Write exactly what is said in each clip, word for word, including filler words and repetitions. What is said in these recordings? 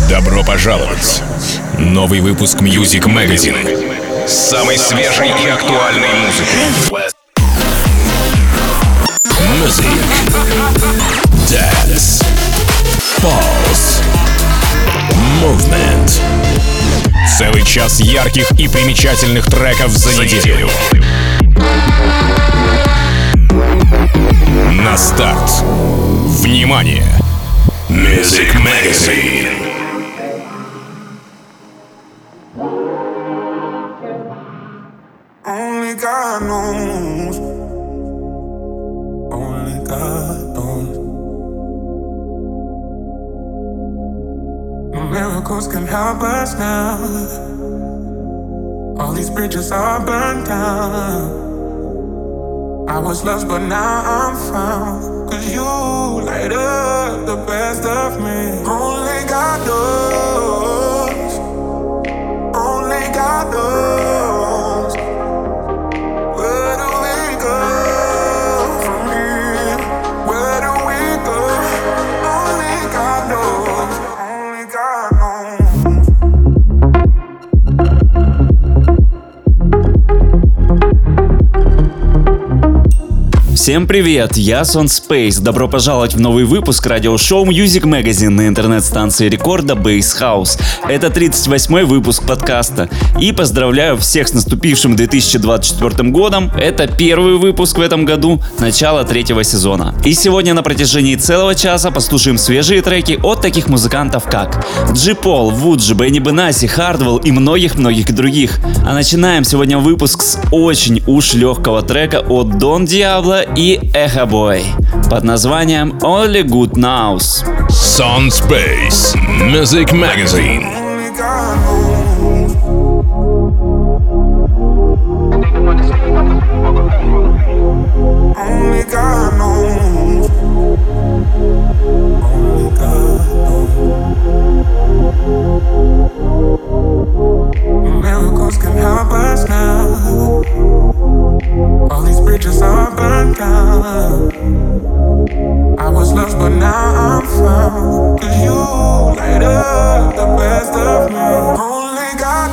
Добро пожаловать! Новый выпуск Music Magazine с самой свежей и актуальной музыкой. Music, Dance, Pulse, Movement. Целый час ярких и примечательных треков за неделю. На старт. Внимание! Music Magazine. Only God knows. Only God knows. No miracles can help us now. All these bridges are burned down. I was lost but now I'm found. Cause you light up the best of me. Only God knows. Only God knows. Where do we go from here? Where do we go? Only God knows. Only God knows. Всем привет, я Сон Спейс. Добро пожаловать в новый выпуск радиошоу Music Magazine на интернет-станции рекорда Bass House. Это тридцать восьмой выпуск подкаста. И поздравляю всех с наступившим две тысячи двадцать четвёртым годом. Это первый выпуск в этом году, начало третьего сезона. И сегодня на протяжении целого часа послушаем свежие треки от таких музыкантов как Джи Пол, Вуджи, Бенни Бенаси, Хардвелл и многих-многих других. А начинаем сегодня выпуск с очень уж легкого трека от Дон Диабло и Echo Boy под названием Only Good Knows. Сон Спейс, Music Magazine. Only God knows. Only God knows. Only God knows. Miracles can help us now. All these bridges are burned down. I was lost but now I'm found. Cause you light up the best of me. Only God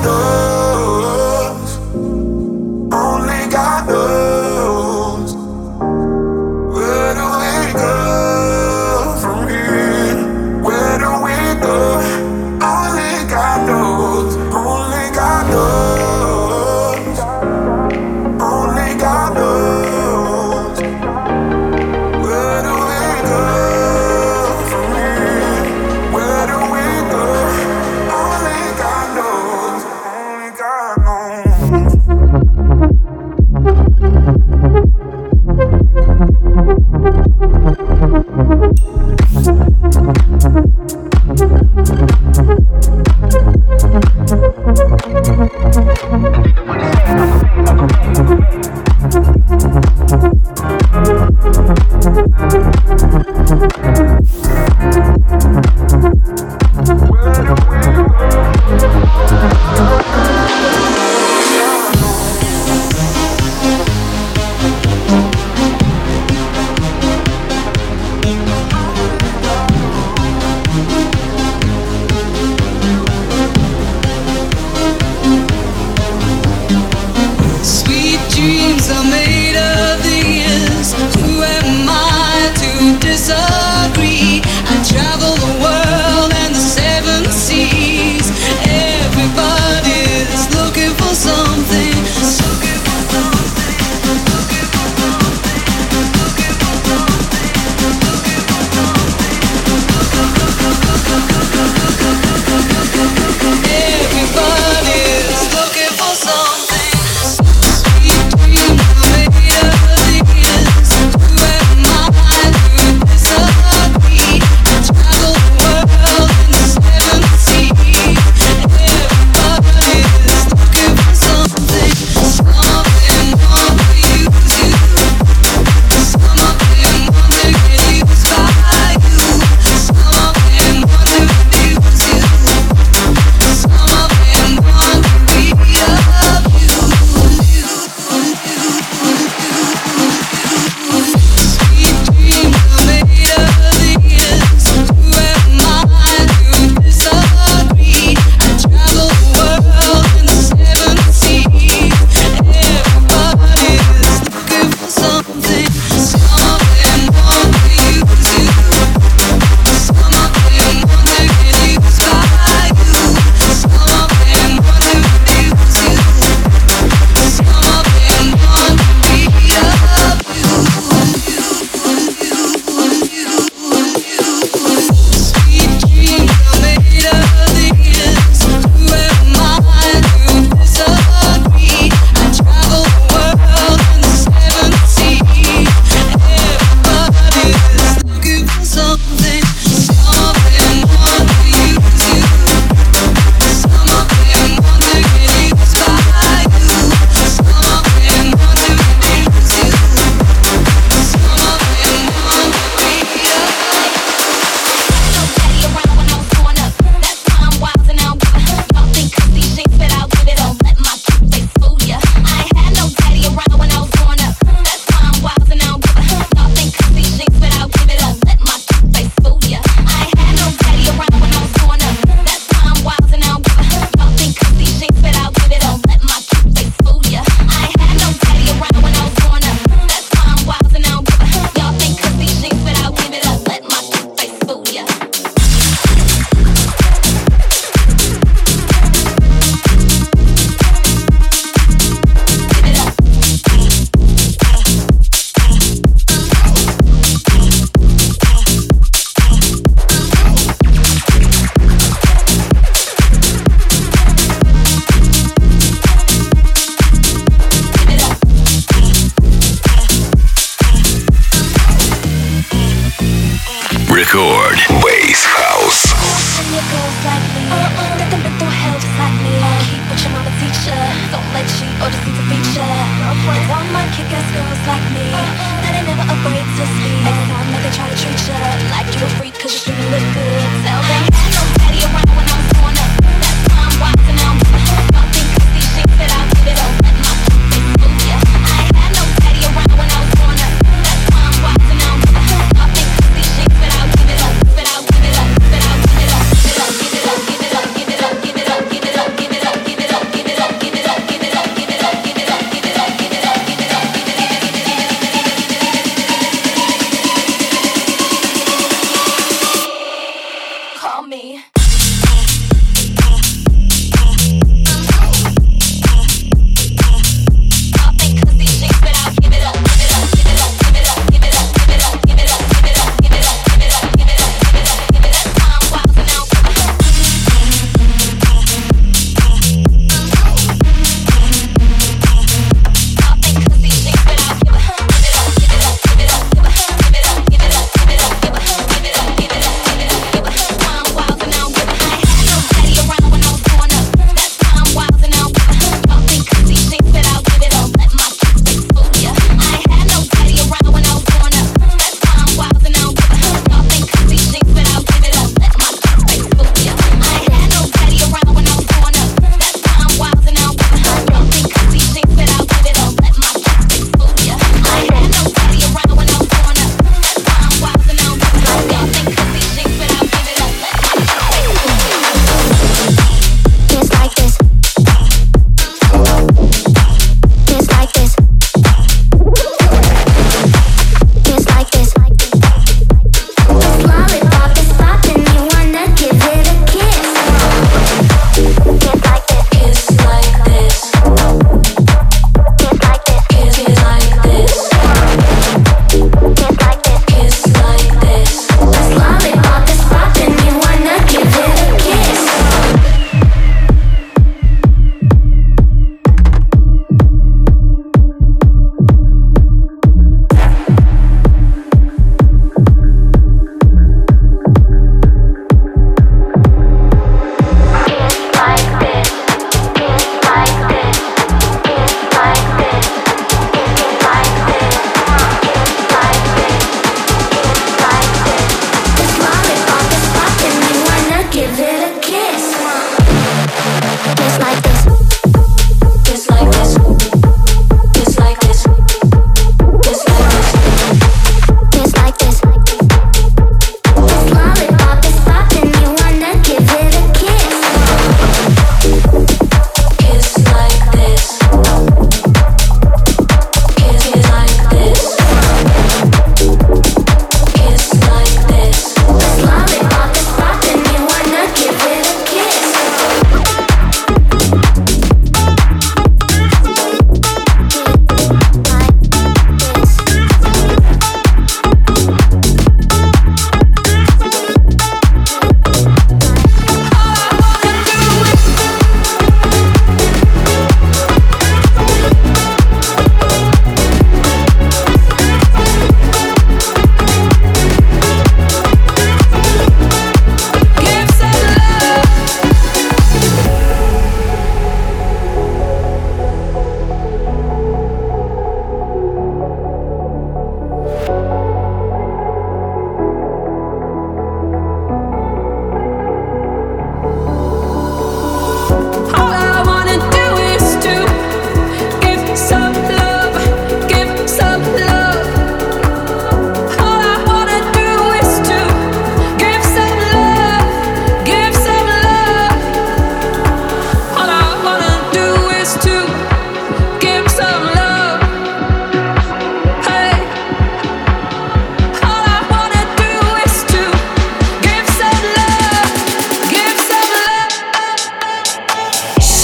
knows. Only God knows. Where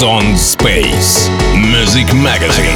Ясон Space Music Magazine.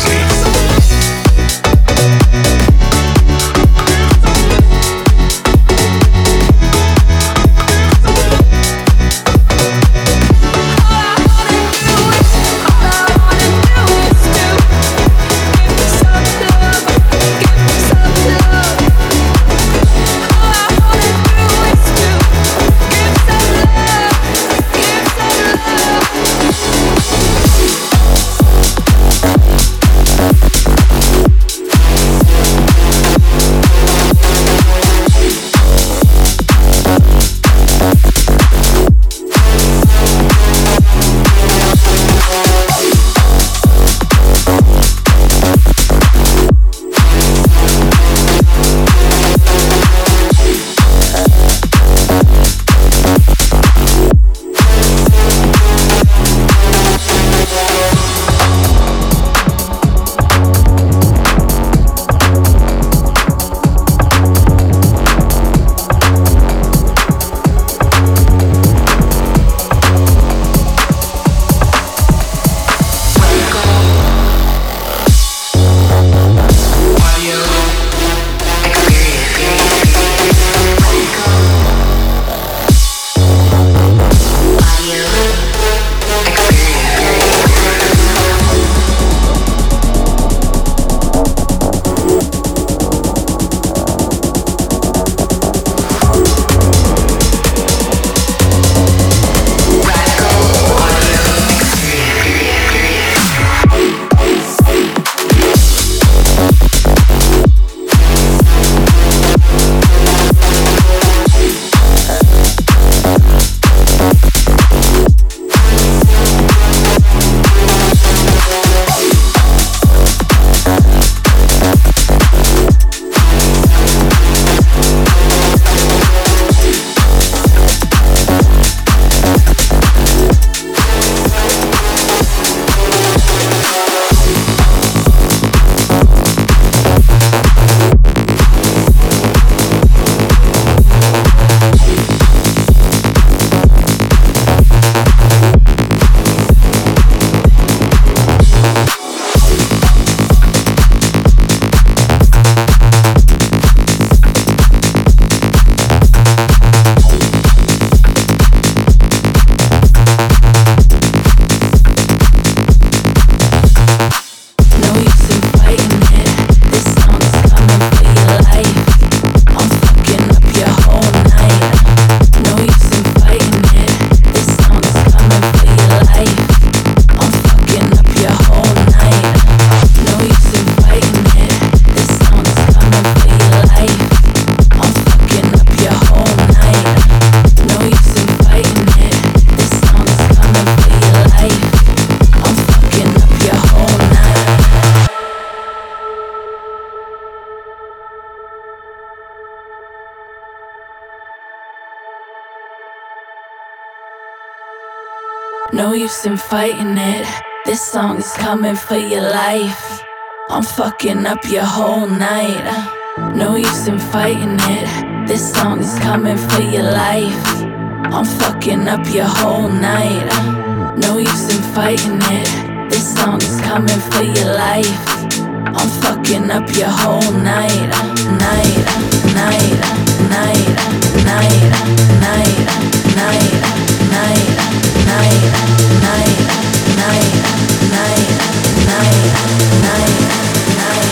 No use in fighting it. This song is coming for your life. I'm fucking up your whole night. No use in fighting it. This song is coming for your life. I'm fucking up your whole night. No use in fighting it. This song is coming for your life. I'm fucking up your whole night. Night, night, night, night, night, night, night, night, night, night, night, night, night, night.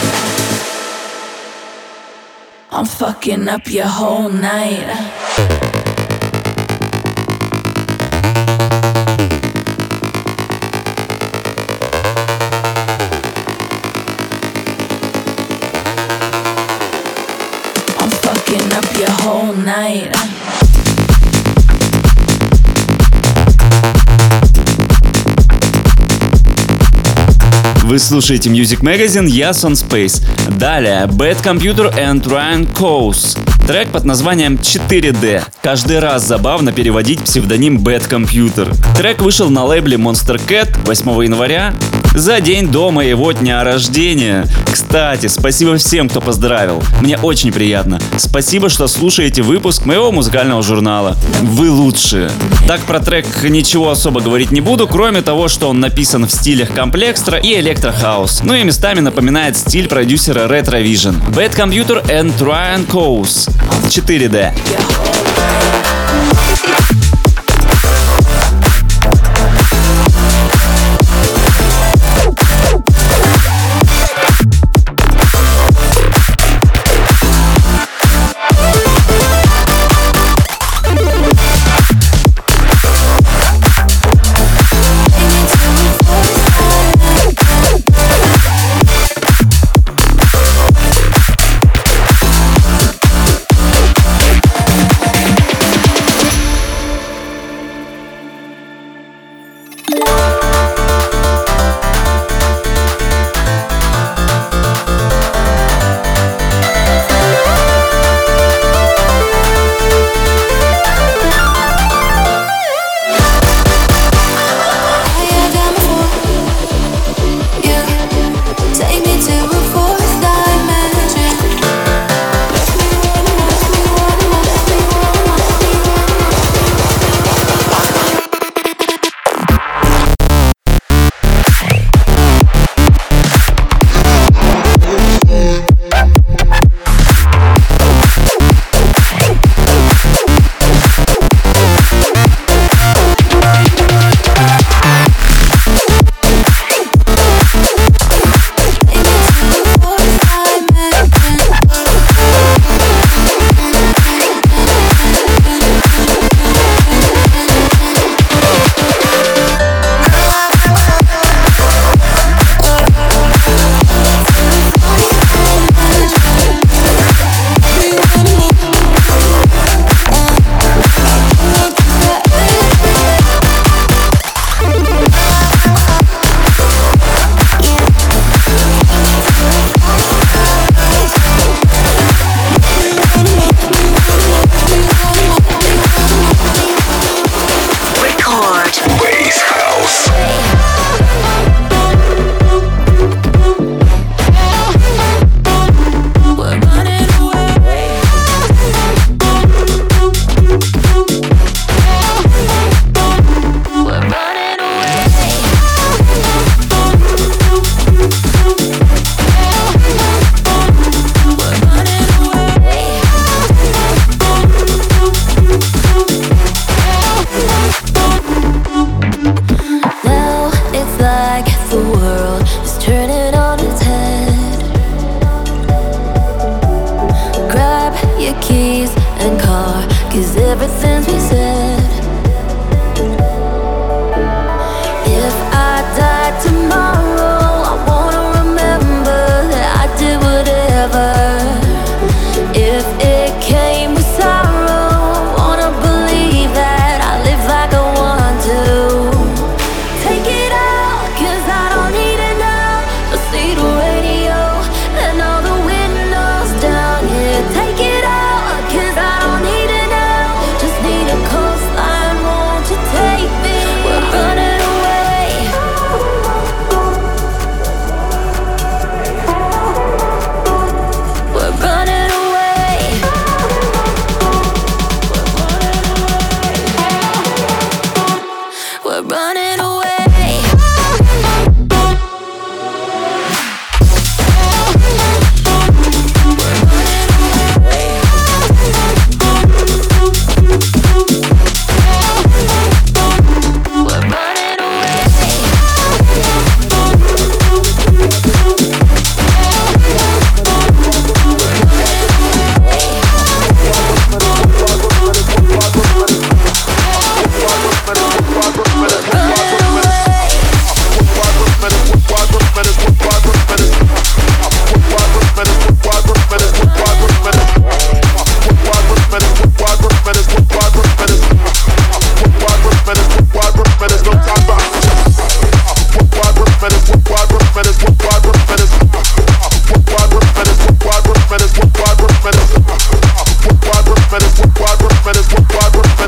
I'm fucking up your whole night. Up your whole night. Вы слушаете Music Magazine, Ясон Space. Далее Bad Computer and Ryan Coase. Трек под названием четыре дэ. Каждый раз забавно переводить псевдоним Bad Computer. Трек вышел на лейбле Monster Cat восьмого января за день до моего дня рождения. Кстати, спасибо всем, кто поздравил. Мне очень приятно. Спасибо, что слушаете выпуск моего музыкального журнала. Вы лучшие. Так, про трек ничего особо говорить не буду, кроме того, что он написан в стилях комплексtra и электрохаус. Ну и местами напоминает стиль продюсера Retrovision. Bad Computer and Ryan Coase. четыре дэ.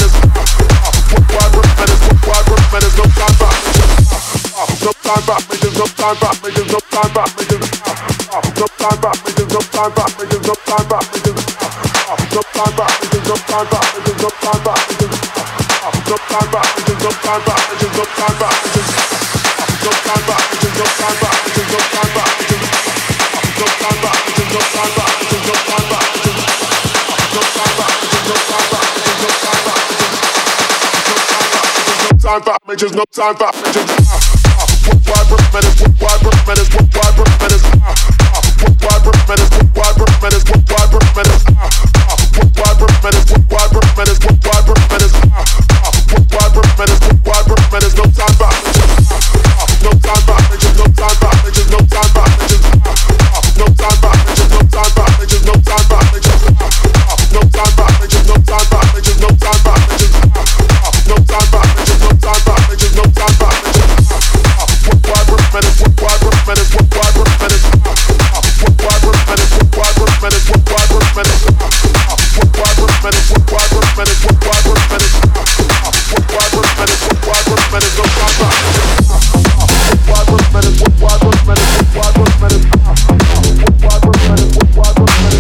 Time back, Bitches, no time for bitches. Why minutes? Why minutes? Why minutes? Why minutes? Why minutes? Why minutes? Why minutes? Why minutes? Why minutes? Why minutes? Why minutes? No time for bitches. No time for bitches. No time for bitches. No time for bitches. No time for bitches. No time for bitches. No time for bitches. No time for bitches. No time for bitches. No time for bitches. No time for bitches. No time for bitches. No time for bitches. Why minutes? Why minutes? Why minutes? Why minutes? Why minutes? Why minutes? Why minutes? Why minutes? Why minutes? Why minutes? Why minutes? No time for bitches. Why minutes? Why minutes? Why minutes? Why minutes? Why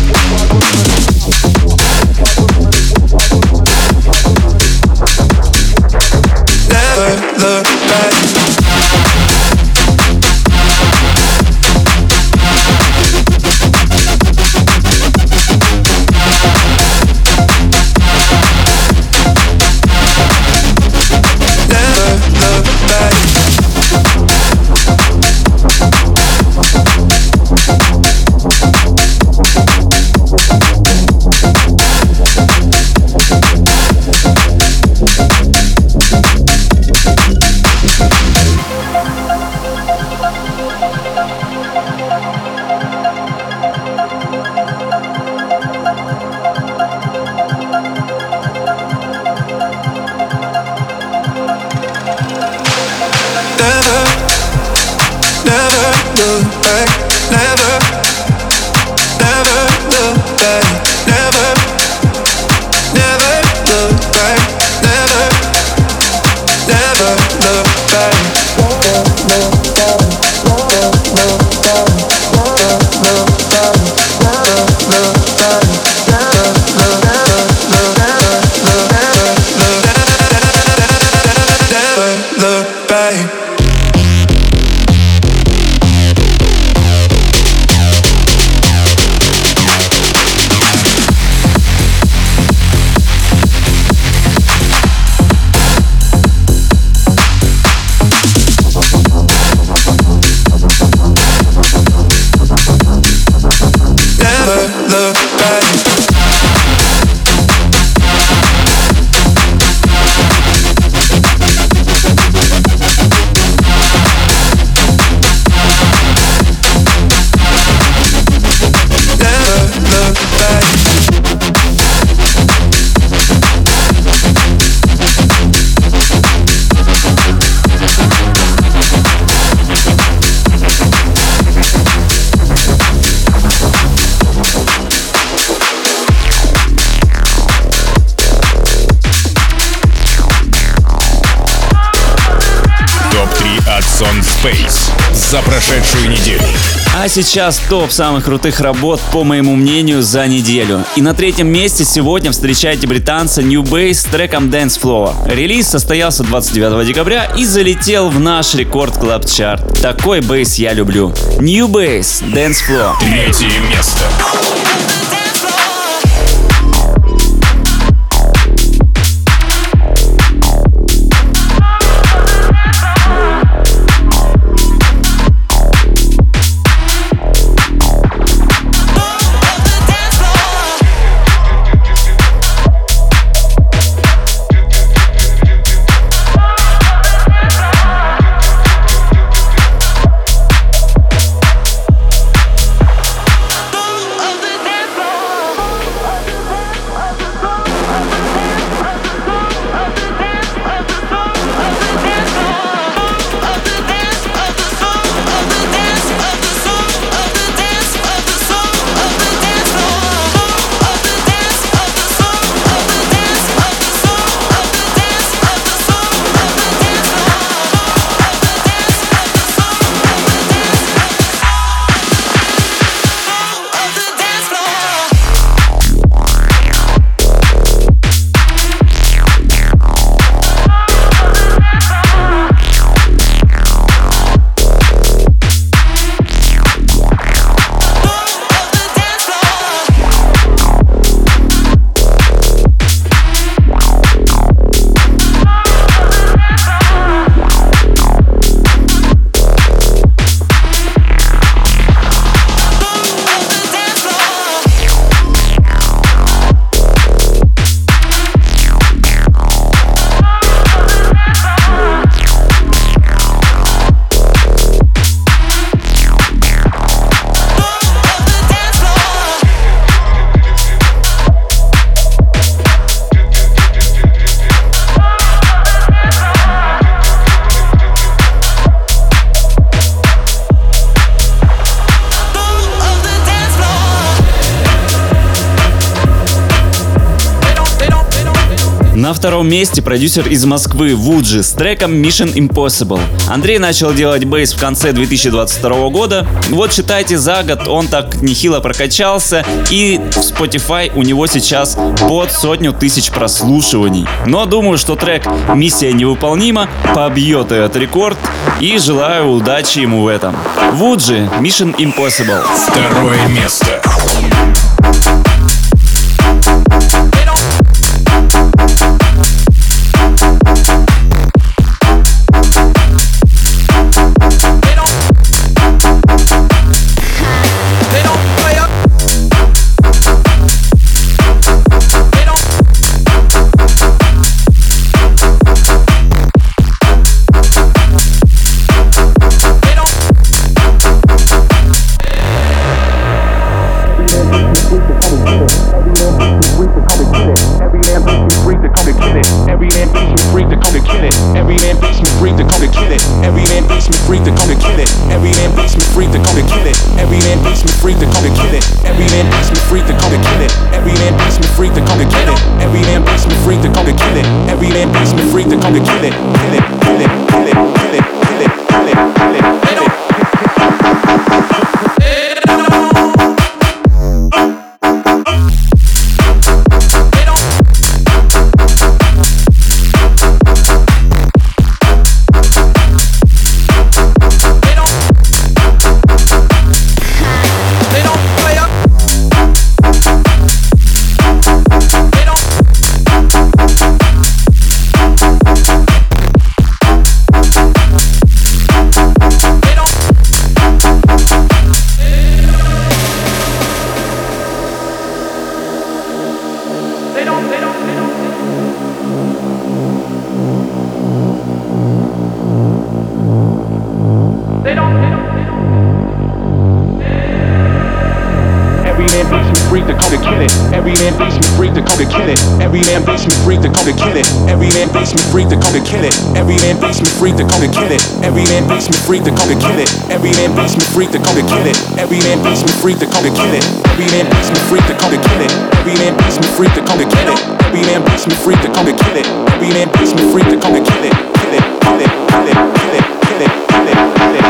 Never look back. Space за прошедшую неделю. А сейчас топ самых крутых работ, по моему мнению, за неделю. И на третьем месте сегодня встречайте британца New Bass с треком Dance Floor. Релиз состоялся двадцать девятого декабря и залетел в наш рекорд клаб чарт. Такой бейс я люблю. New Bass, Dance Floor. Третье место. Of the dance floor. На втором месте продюсер из Москвы Вуджи с треком Mission Impossible. Андрей начал делать бейс в конце две тысячи двадцать второго года. Вот считайте, за год он так нехило прокачался, и в Spotify у него сейчас под сотню тысяч прослушиваний. Но думаю, что трек «Миссия невыполнима» побьет этот рекорд, и желаю удачи ему в этом. Вуджи, Mission Impossible. Второе место. Freak to come to kill it. Every man basement freak to come to kill it. Every man basement freak to come to kill it. Every man basement freak to come to kill it. Every man basement freak to come to kill it. Every man basement freak to come to kill it. Every man basement freak to come to kill it. Kill it, kill it, kill it, kill it, kill it, kill it, kill it.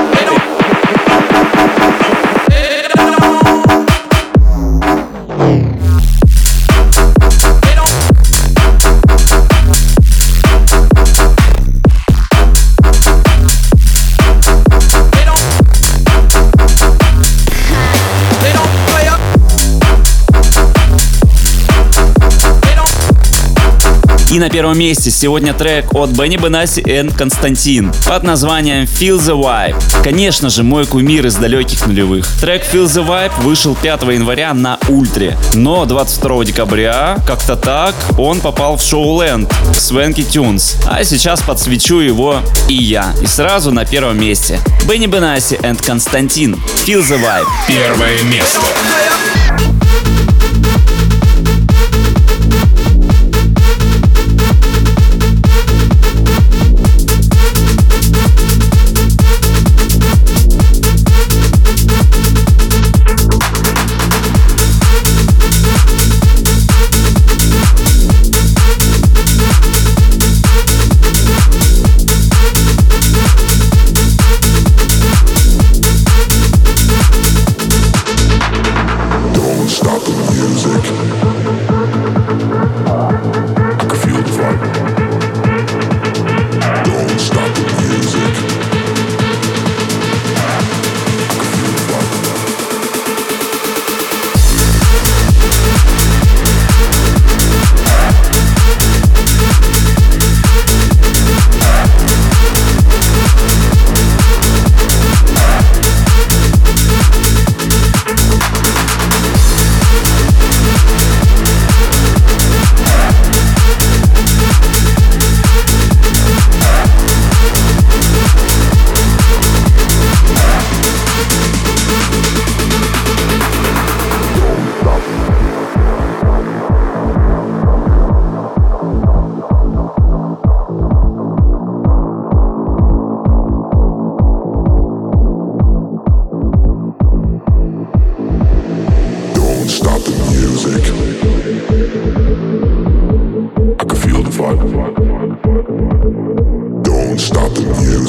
И на первом месте сегодня трек от Бенни Бенасси и Константин под названием Feel the Vibe. Конечно же, мой кумир из далеких нулевых. Трек Feel the Vibe вышел пятого января на Ультре, но двадцать второго декабря, как-то так, он попал в Шоуленд в Swanky Tunes. А сейчас подсвечу его и я. И сразу на первом месте Бенни Бенасси и Константин Feel the Vibe. Первое место.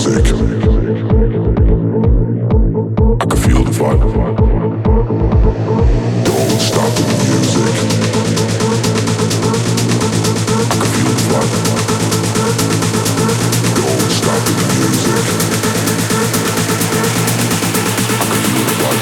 music. I can feel the vibe. Don't stop the music. I can feel the vibe. Don't stop the music. I can feel the vibe.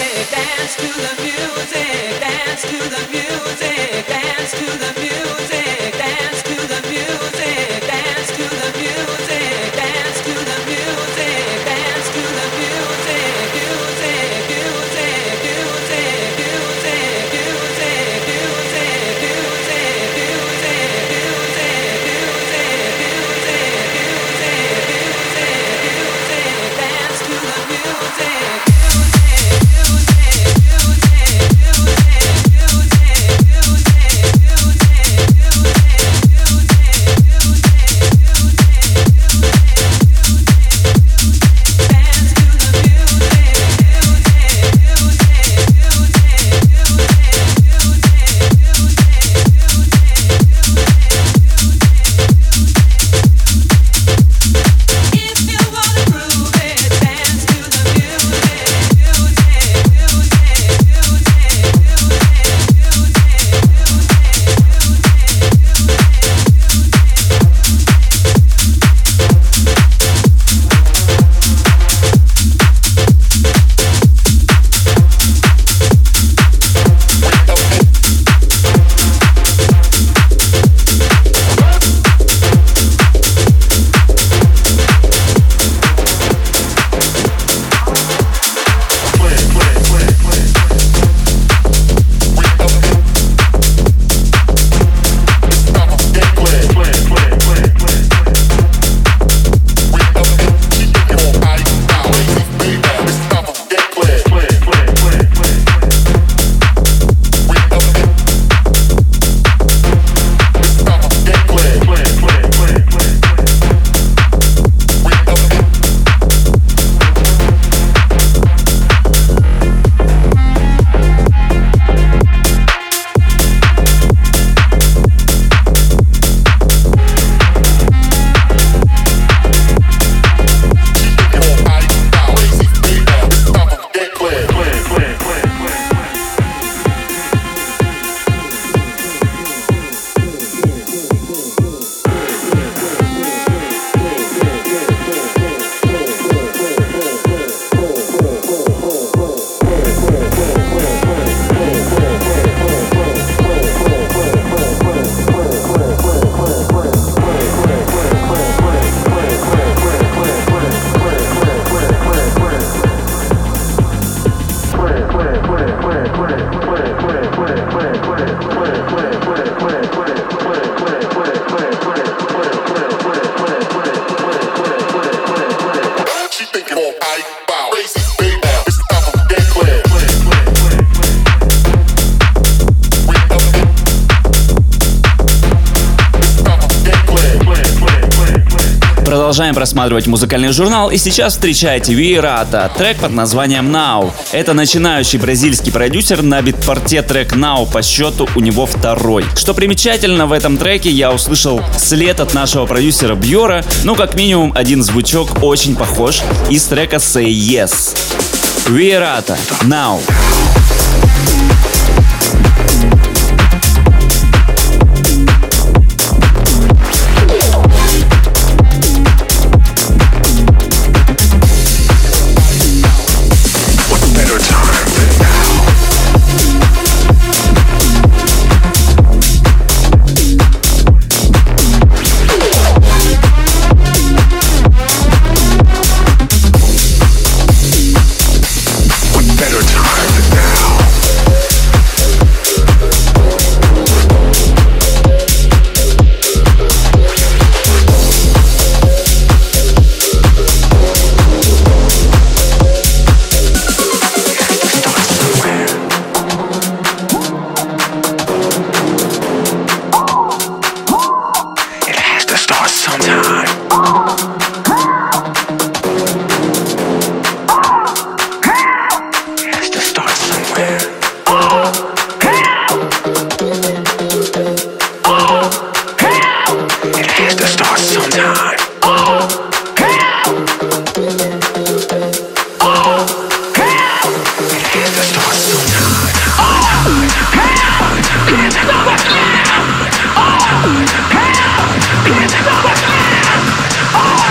Продолжаем просматривать музыкальный журнал, и сейчас встречайте Виерата, трек под названием Now. Это начинающий бразильский продюсер, на битпорте трек Now по счету у него второй. Что примечательно, в этом треке я услышал след от нашего продюсера Бьора, ну как минимум один звучок очень похож из трека Say Yes. Виерата, Now.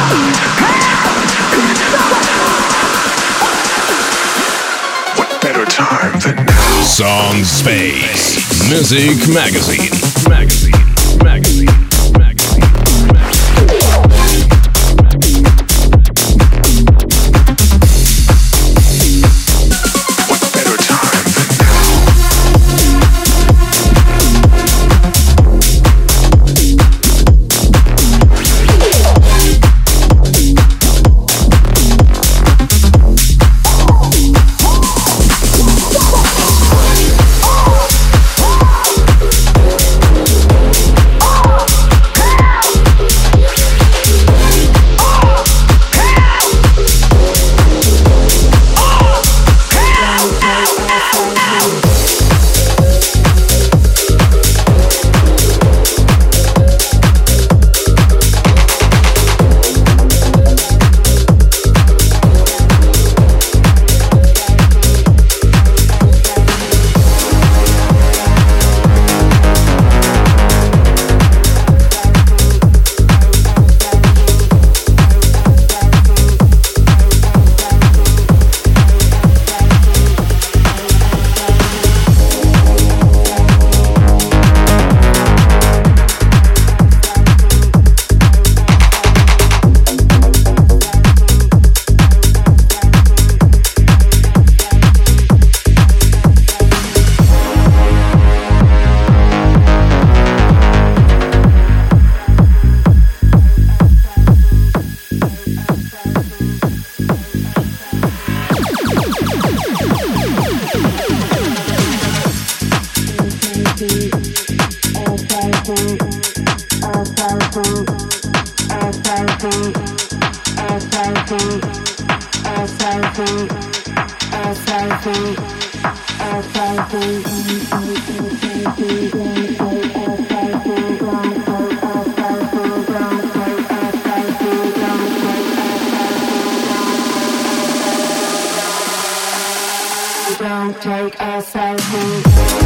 Better time than now. Song Space Music Magazine. Magazine. Magazine. Magazine. Don't take ourselves home.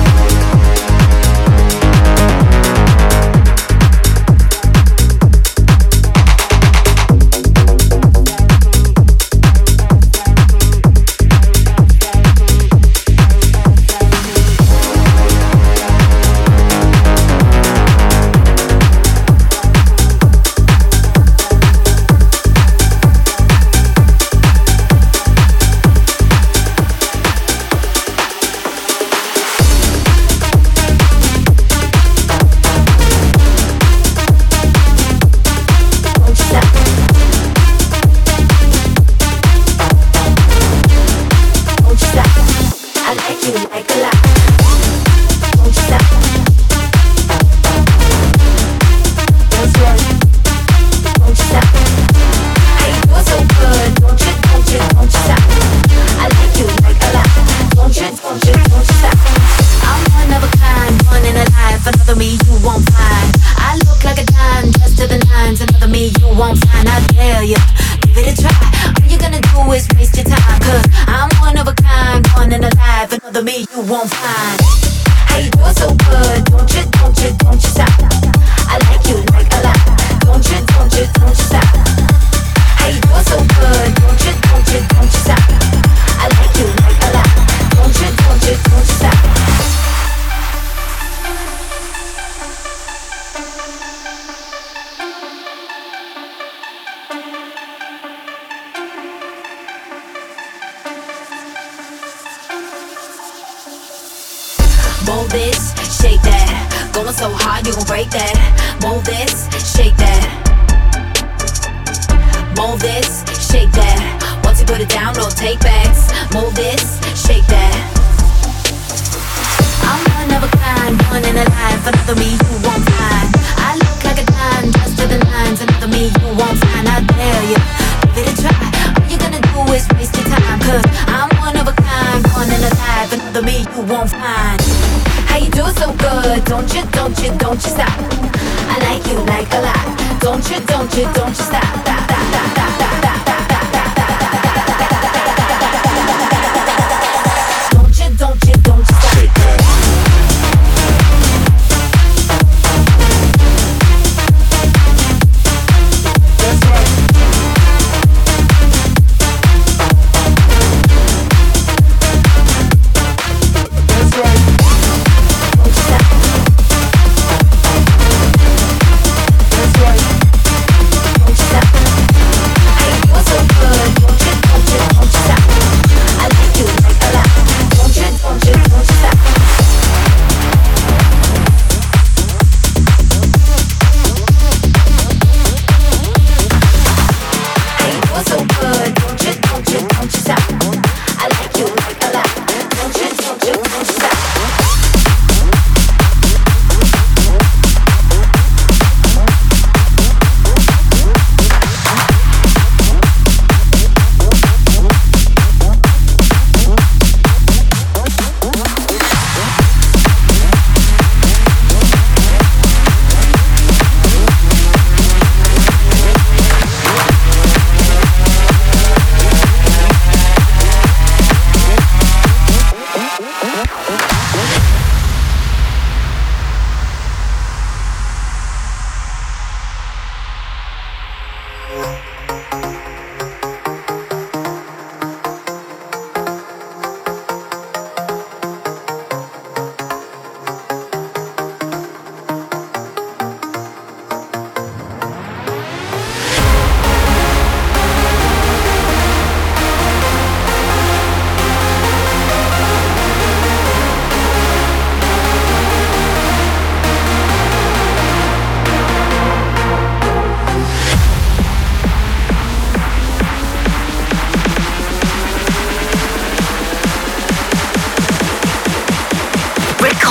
Move this, shake that. Going so hard, you gon' break that. Move this, shake that. Move this, shake that. Once you put it down, no take backs. Move this, shake that. I'm one of a kind, one in a life. Another me you won't find. I look like a dime, dressed to the nines. Another me you won't find. I dare you, give it a try. All you're gonna do is waste your time. Cause I'm one of a kind, one in a life. Another me you won't find. How you do so good? Don't you, don't you, don't you stop? I like you like a lot. Don't you, don't you, don't you stop? Da, da, da, da, da, da, da, da, da, da. Don't you, don't you, don't you stop? Shake that. That's right.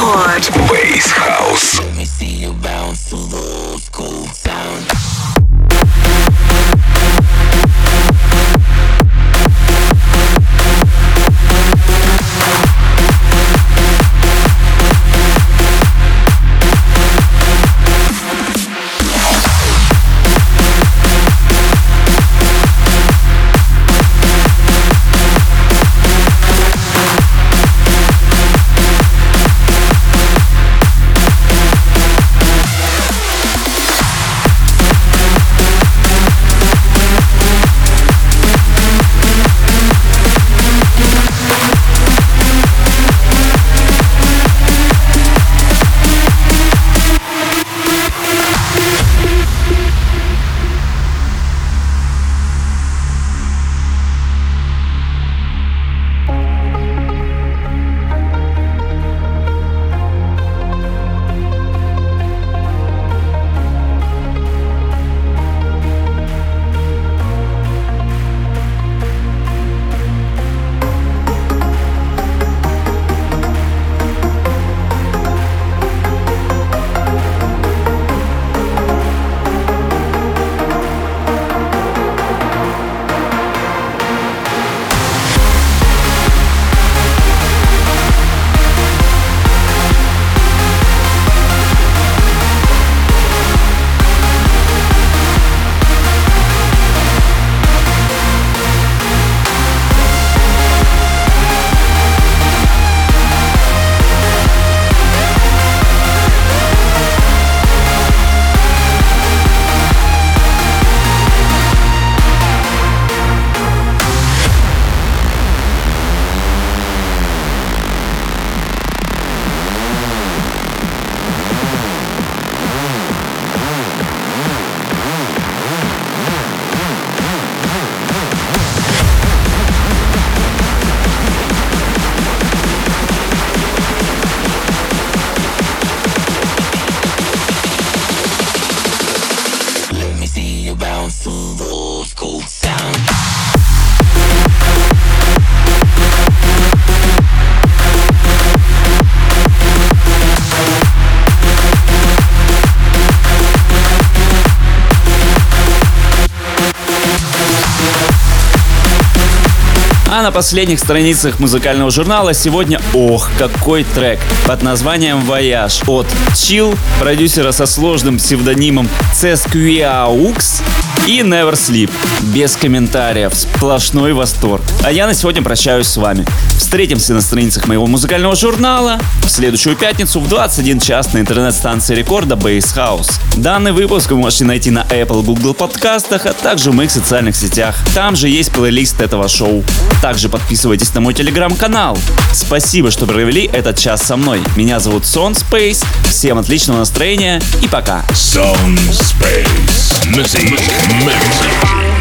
Record. Bass House. Let me see you bounce to the old school sound. А на последних страницах музыкального журнала сегодня, ох, какой трек под названием «Voyage» от Chill, продюсера со сложным псевдонимом Cesquiaux и Never Sleep. Без комментариев, сплошной восторг. А я на сегодня прощаюсь с вами. Встретимся на страницах моего музыкального журнала в следующую пятницу в двадцать один час на интернет-станции рекорда Bass House. Данный выпуск вы можете найти на Apple, Google подкастах, а также в моих социальных сетях. Там же есть плейлист этого шоу. Также подписывайтесь на мой телеграм-канал. Спасибо, что провели этот час со мной. Меня зовут Сон Space. Всем отличного настроения и пока. Sound Space. Music Magazine.